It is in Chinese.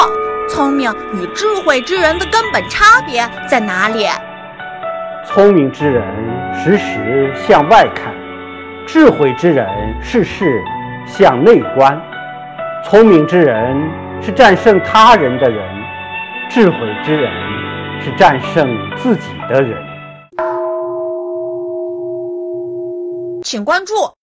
聪明与智慧之人的根本差别在哪里？ 聪明之人时时向外看，智慧之人事事向内观。聪明之人是战胜他人的人，智慧之人是战胜自己的人。 请关注